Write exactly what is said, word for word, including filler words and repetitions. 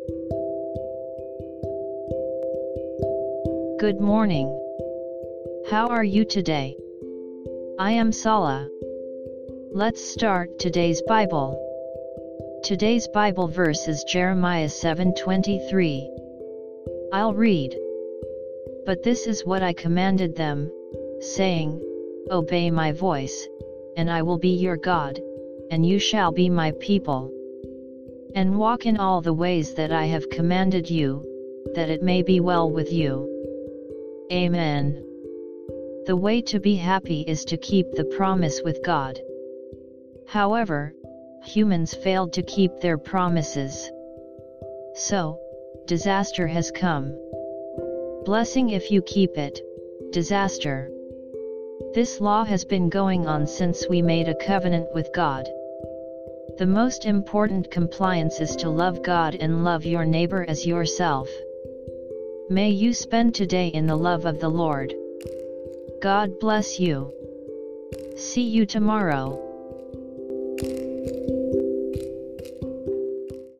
Good morning. How are you today? I am Sala. Let's start today's Bible. Today's Bible verse is Jeremiah seven twenty-three. I'll read. But this is what I commanded them, saying, Obey my voice, and I will be your God, and you shall be my people. And walk in all the ways that I have commanded you, that it may be well with you. Amen. The way to be happy is to keep the promise with God. However, humans failed to keep their promises. So, disaster has come. Blessing if you keep it, disaster. This law has been going on since we made a covenant with God. The most important compliance is to love God and love your neighbor as yourself. May you spend today in the love of the Lord. God bless you. See you tomorrow.